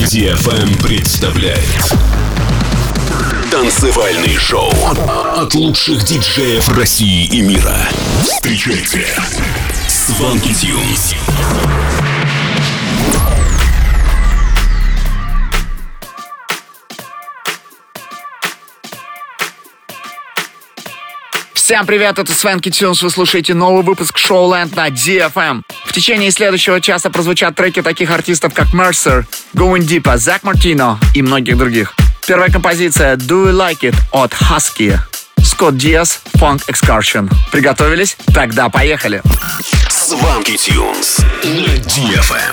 DFM представляет танцевальный шоу от лучших диджеев России и мира. Встречайте Swanky Tunes. Всем привет, это Swanky Tunes, вы слушаете новый выпуск Showland на DFM. В течение следующего часа прозвучат треки таких артистов, как Mercer, Going Deep, Zach Martino и многих других. Первая композиция Do You Like It от Husky, Scott Diaz, Funk Excursion. Приготовились? Тогда поехали. Swanky Tunes на DFM.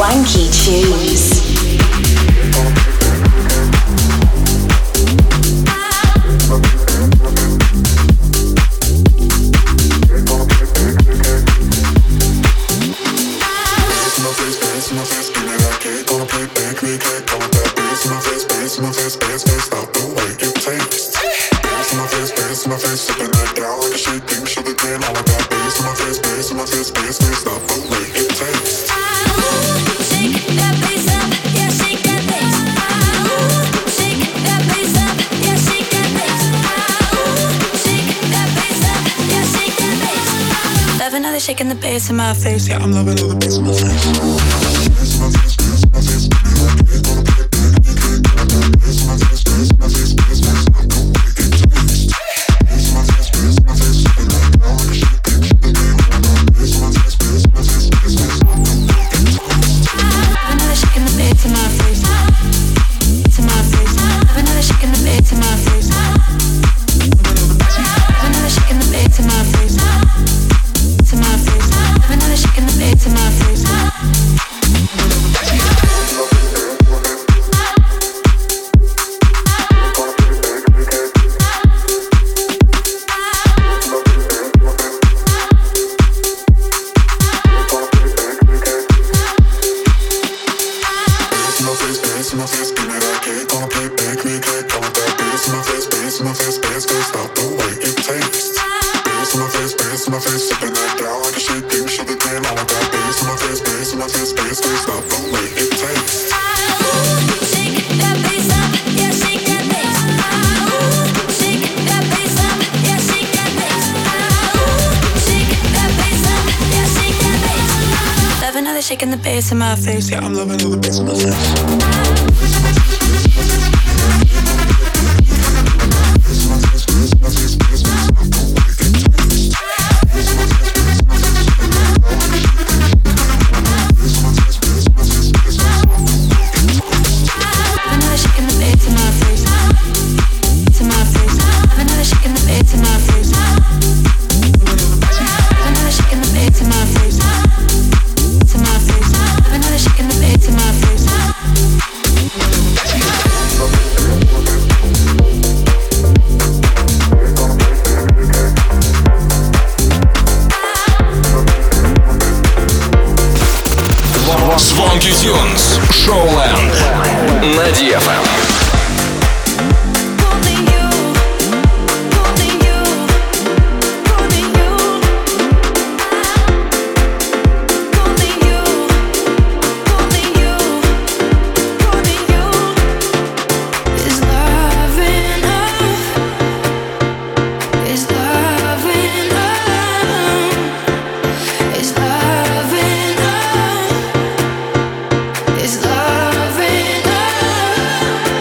Swanky Tunes. Shaking the bass in my face, yeah, I'm loving all the bass in my face. Shaking the bass in my face, yeah, I'm loving all the bass in my face. Swanky Tunes, Showland на DFM. Is love enough?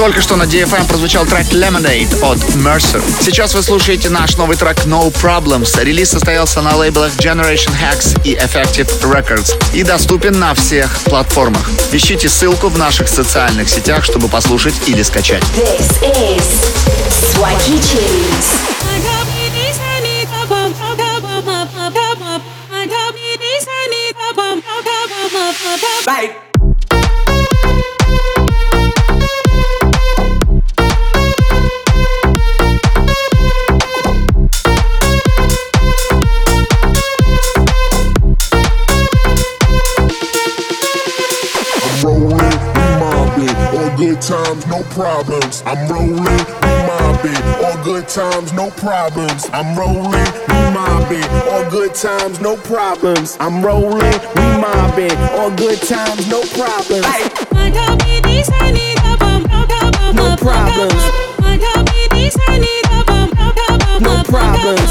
Только что на DFM прозвучал трек Lemonade от Mercer. Сейчас вы слушаете наш новый трек No Problems. Релиз состоялся на лейблах Generation Hex и Effective Records и доступен на всех платформах. Ищите ссылку в наших социальных сетях, чтобы послушать или скачать. This is Swanky Tunes. Right. Good times, no problems. I'm rolling, we mobbing. All good times, no problems. I'm rolling, we mobbing. All good times, no problems. I'm rolling, we mobbing. All good times, no problems. No problems. No problems.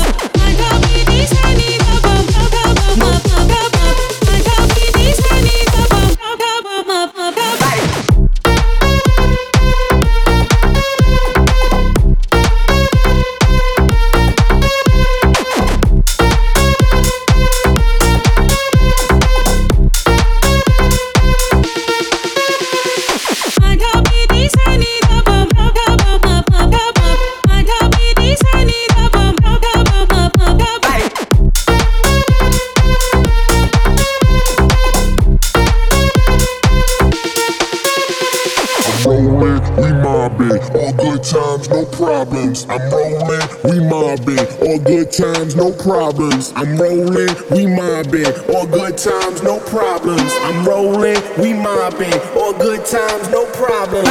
I'm rolling, we mobbing. All good times, no problems. I'm rolling, we mobbing. All good times, no problems. I'm rolling, we mobbing. All good times, no problems.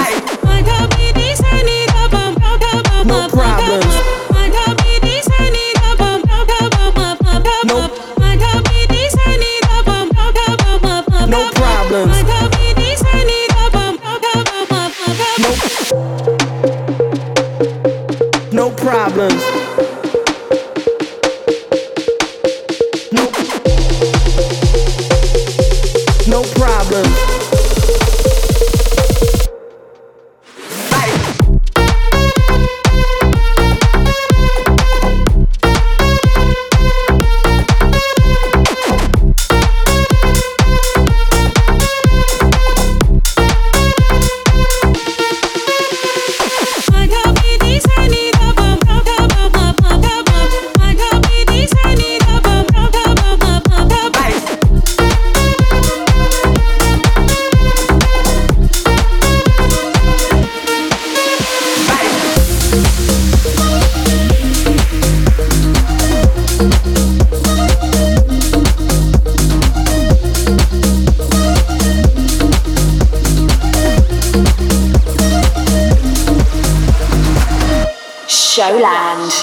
No problems. No problems. No problems. No problems. Showland.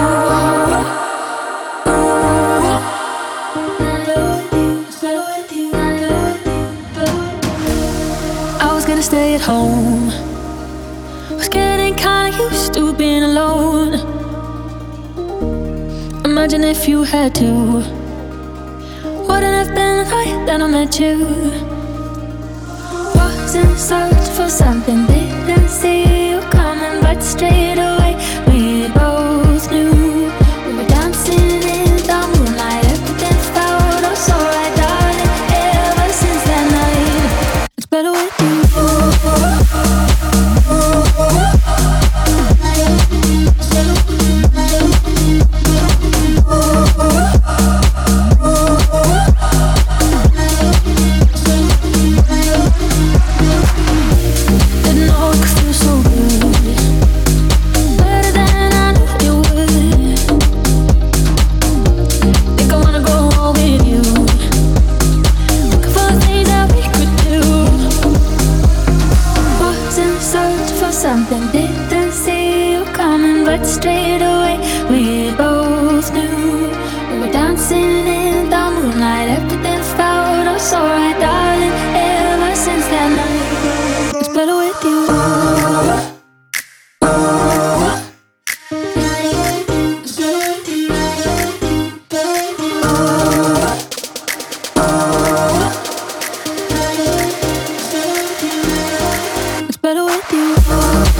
I was gonna stay at home. Was getting kinda used to being alone. Imagine if you had to. Wouldn't have been the night that I met you. Was in search for something, didn't see you coming, but straight away we both knew. We were dancing in the moonlight, everything felt oh so right, darling. Ever since that night, it's better with you. Didn't know it could feel so good, better than I knew it would. Think I wanna go home with you, looking for the things that we could do. Was in search for something, didn't see you coming, but straight away we both knew. We were dancing in the moonlight, everything felt oh so right, darling. Ever since that night, it's better with you. It's better with you.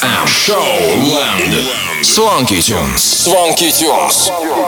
DFM. Showland. Swanky Tunes. Swanky Tunes.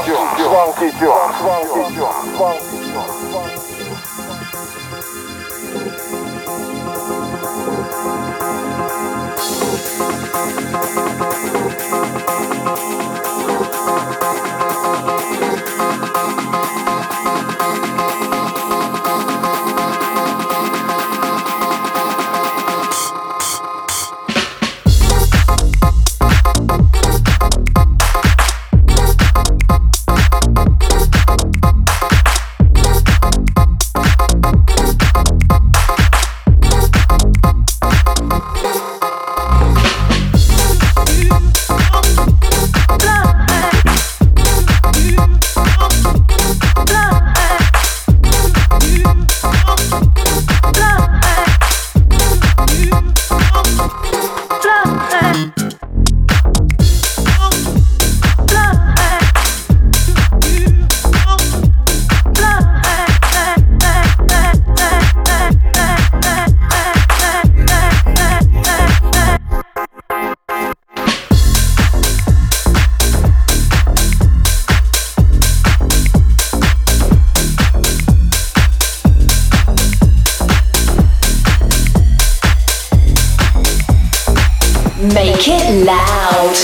Make it loud.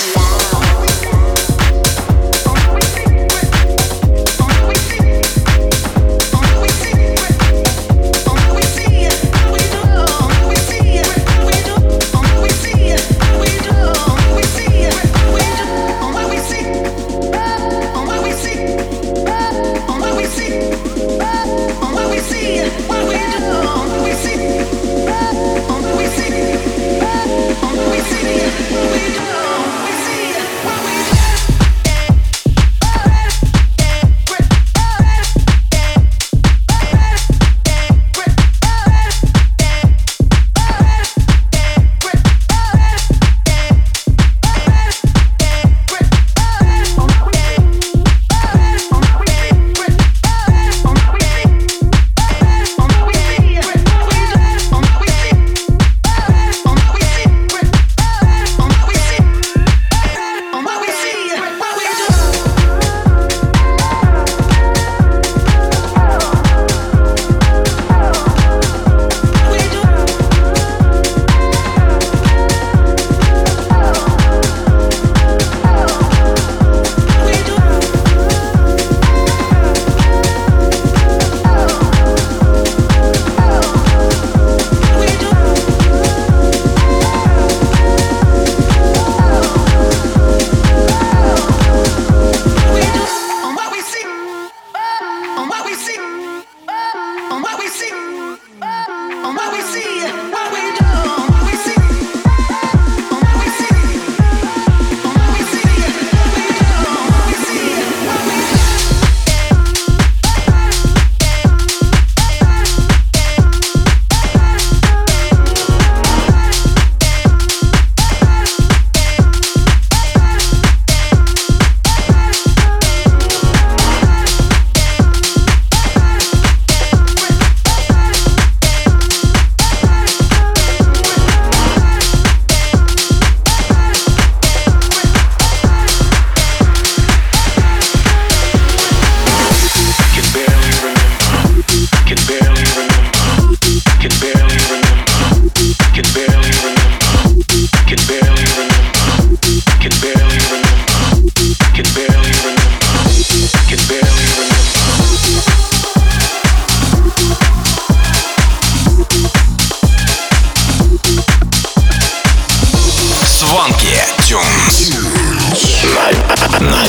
На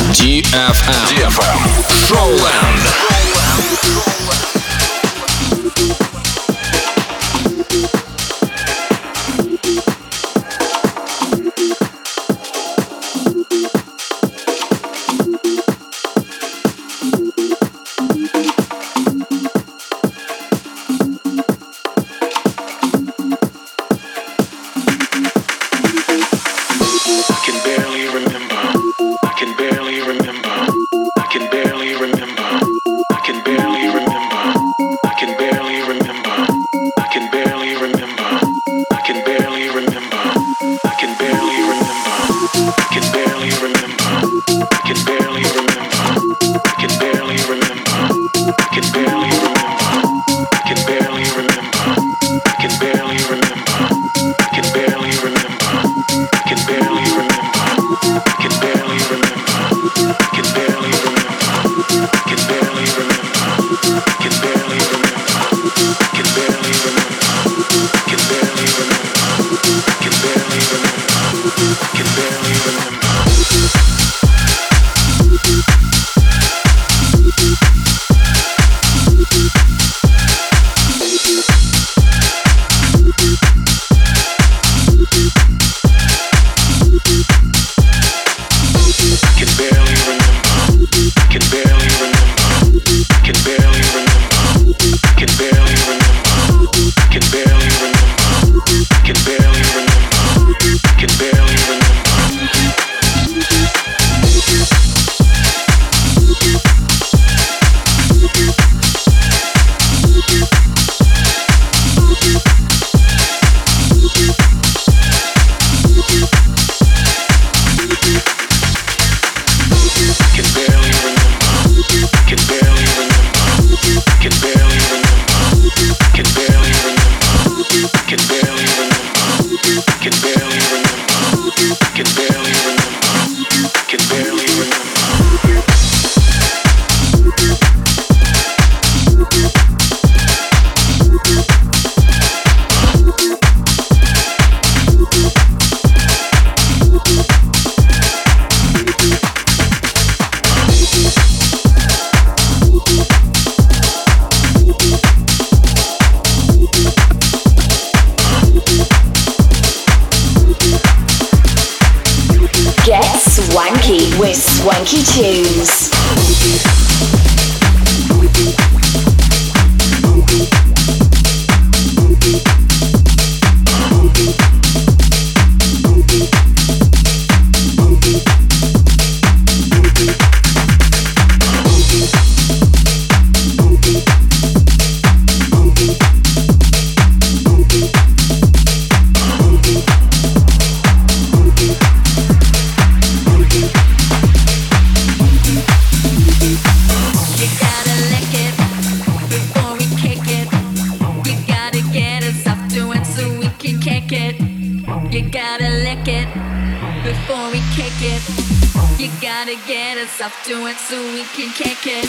DFM. Showland. I can barely remember. Swanky Tunes. Get us up to it so we can kick it.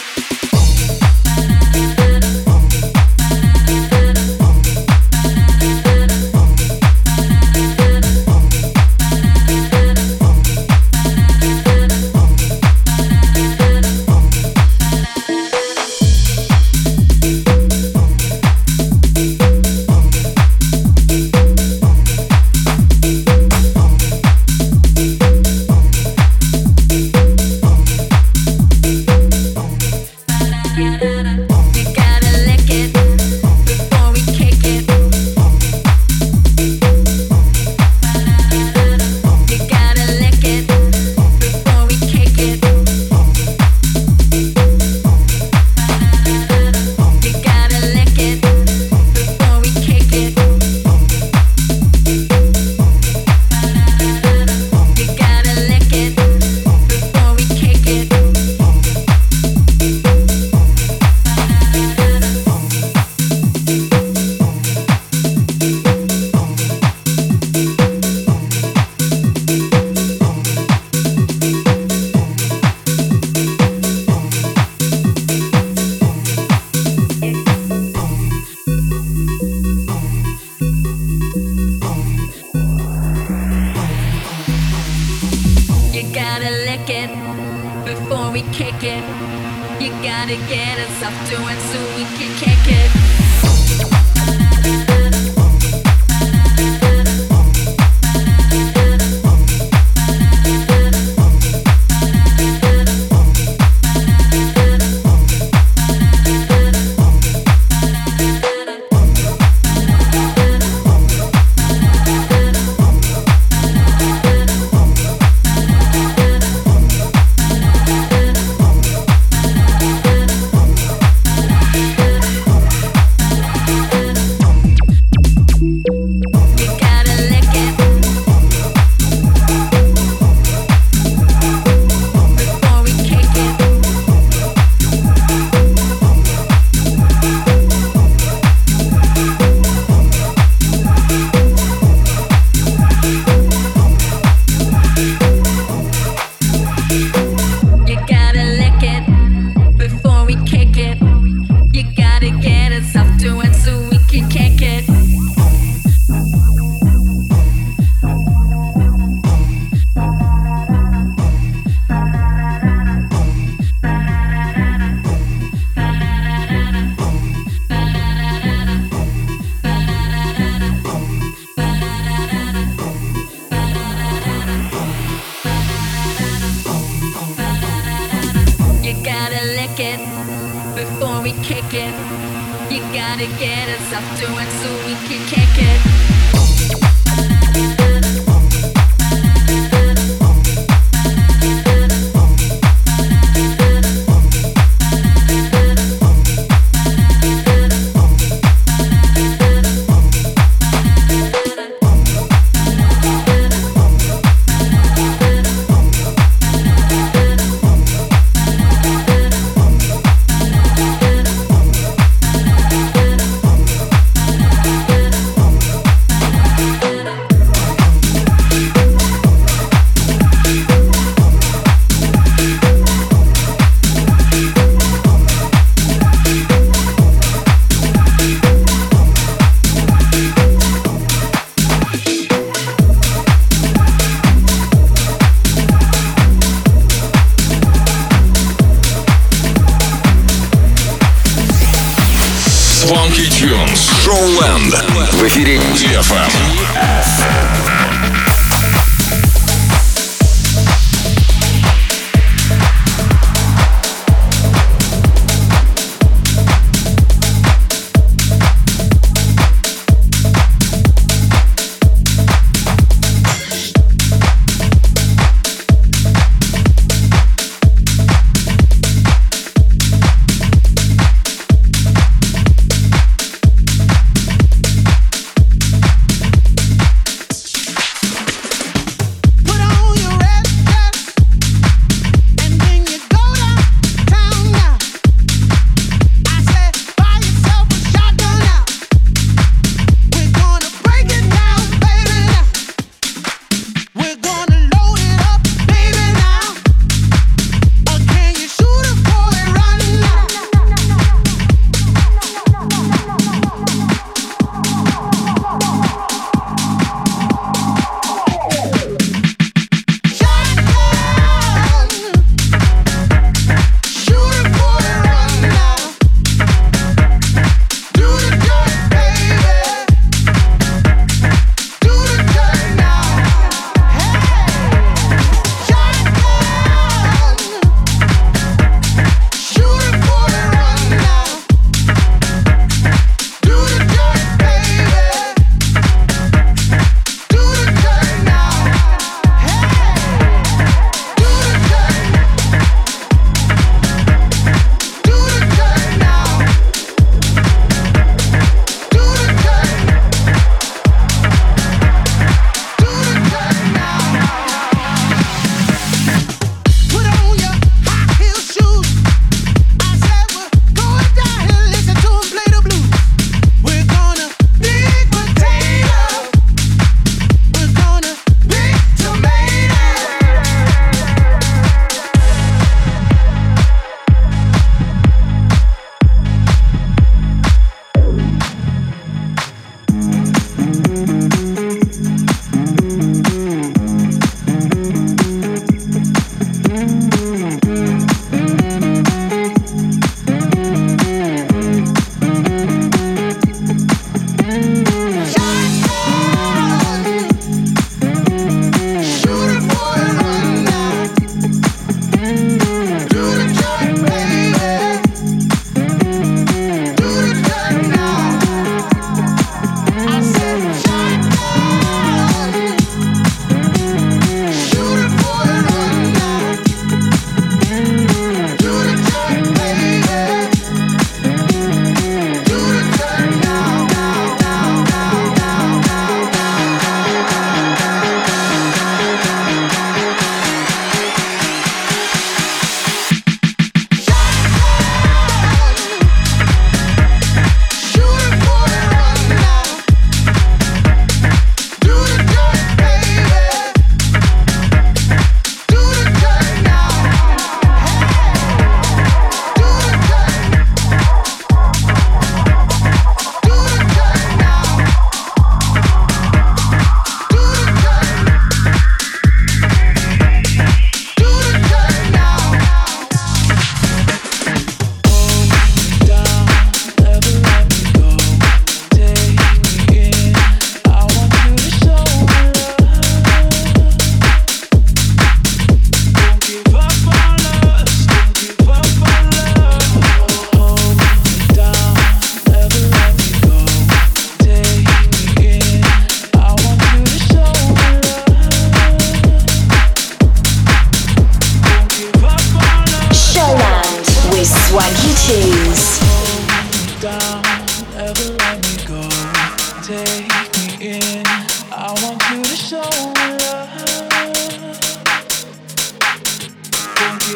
kick it. You gotta get us up to it so we can kick it. Swanky Tunes. Showland. В эфире DFM.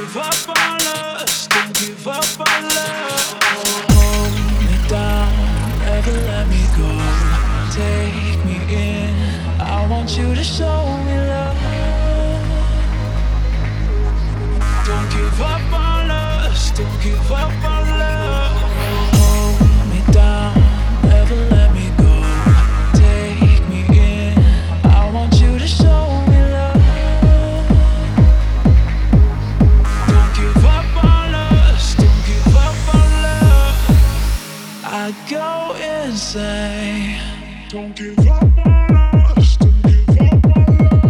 give up on us, don't give up on love. Hold me down, never let me go. Take me in, I want you to show me love. Don't give up on us, don't give up on love. Hold me down, never let me go. Take me in, I want you to show me love. Don't give up on us, don't give up on love. I go insane. Don't give up on us, don't give up on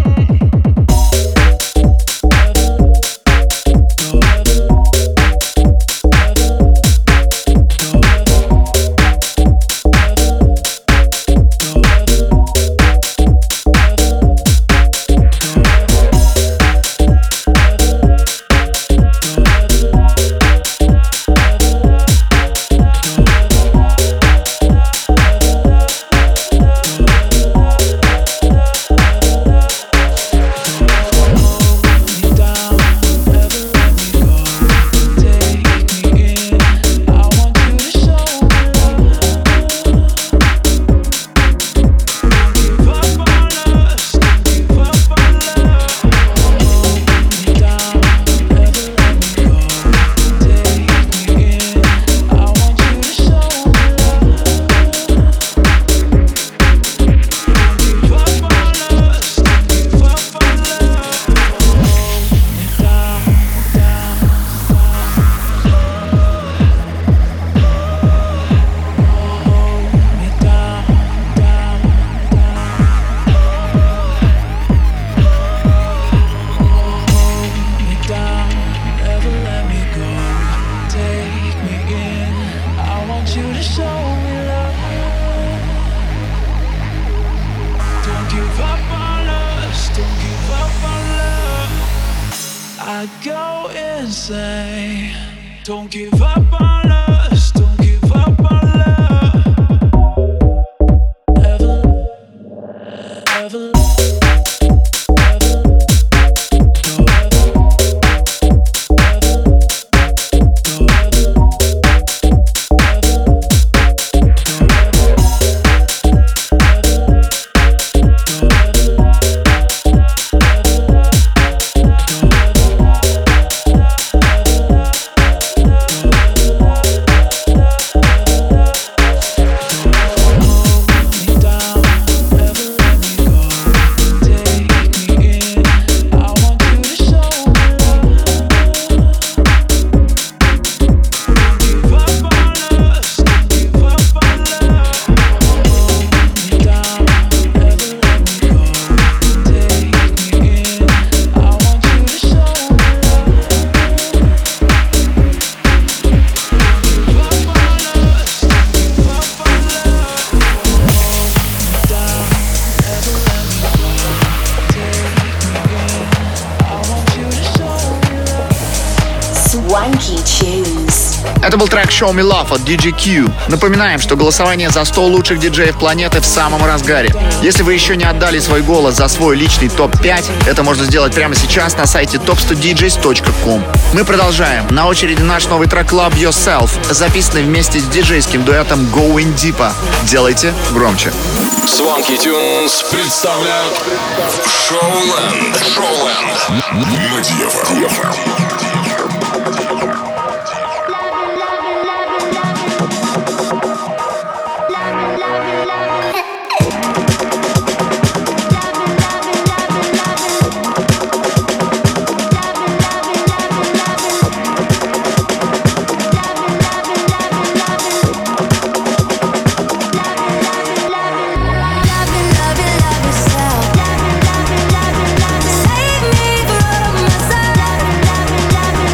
Don't give up on us, don't give up on love. Ever, ever. Это был трек Show Me Love от DJ Q. Напоминаем, что голосование за 100 лучших диджеев планеты в самом разгаре. Если вы еще не отдали свой голос за свой личный топ-5, это можно сделать прямо сейчас на сайте top100djs.com. Мы продолжаем. На очереди наш новый трек Love Yourself, записанный вместе с диджейским дуэтом Going Deeper. Делайте громче. Swanky Tunes представляют Showland на DFM. Save me from myself.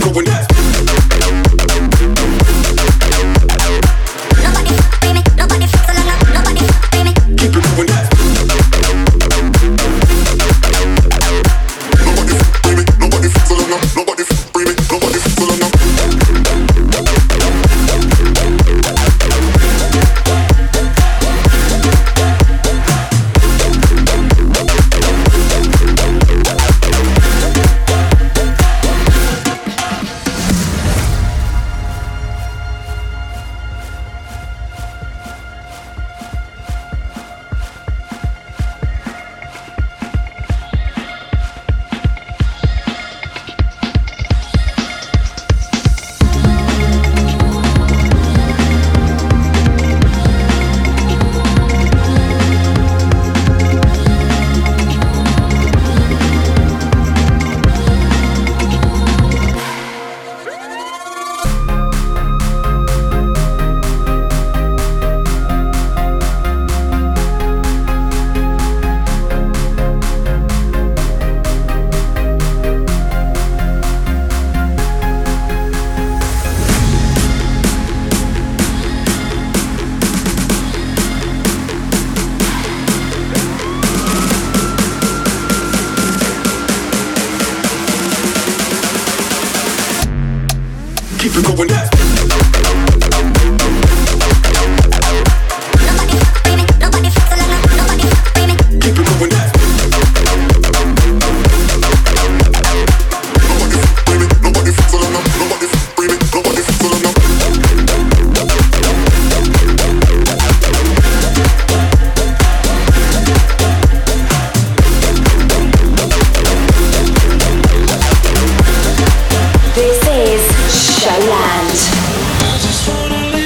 This is Showland. I just wanna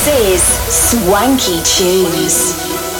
This is Swanky Tunes.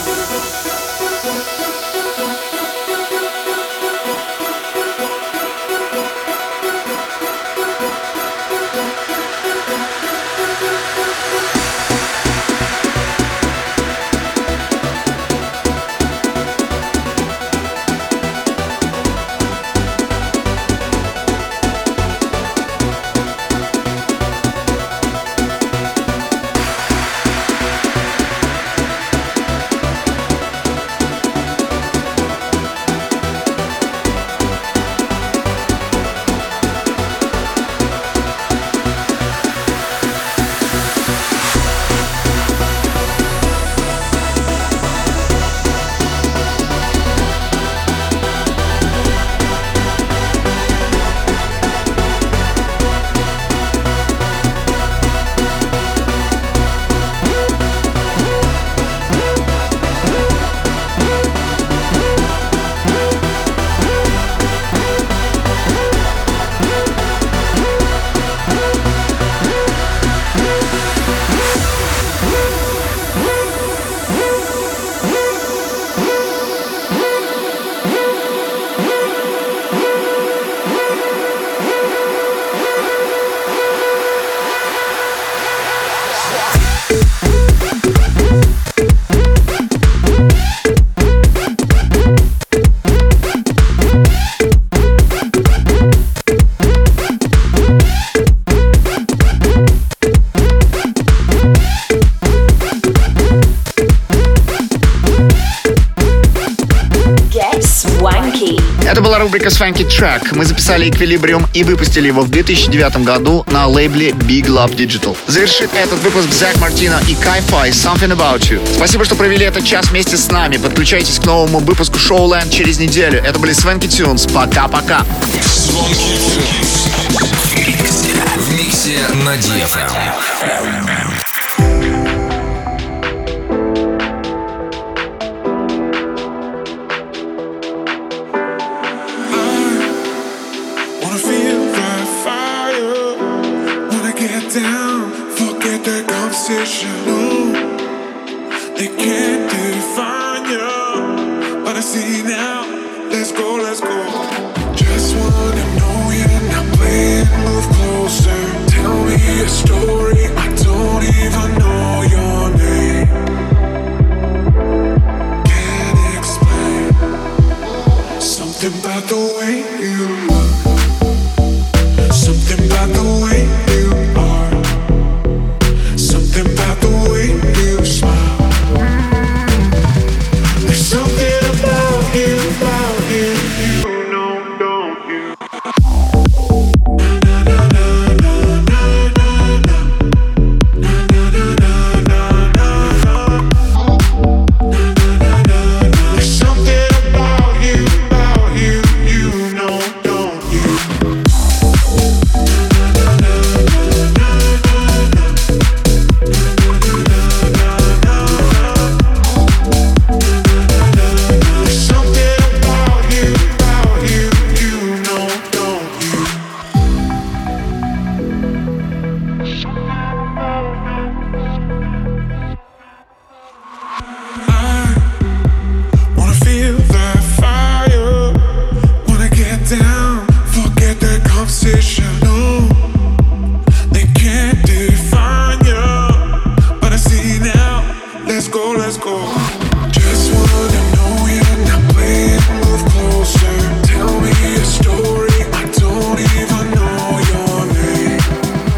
Это была рубрика Swanky Track. Мы записали Equilibrium и выпустили его в 2009 году на лейбле Big Love Digital. Завершит этот выпуск Зак Мартино и Кай-Фай Something About You. Спасибо, что провели этот час вместе с нами. Подключайтесь к новому выпуску Showland через неделю. Это были Swanky Tunes. Пока-пока. Swanky Tunes. В миксе на DFM. No, they can't define you, but I see now. Let's go, let's go. Just wanna know you're not playing. Move closer. Tell me a story. I don't even know your name. Can't explain something about the way you look. Something about the way you are. Something about the way you smile. There's something about you, you know, don't you? Na na na na na na na na na na na. There's something about you, you know, don't you?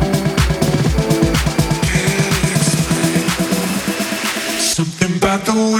Something about the way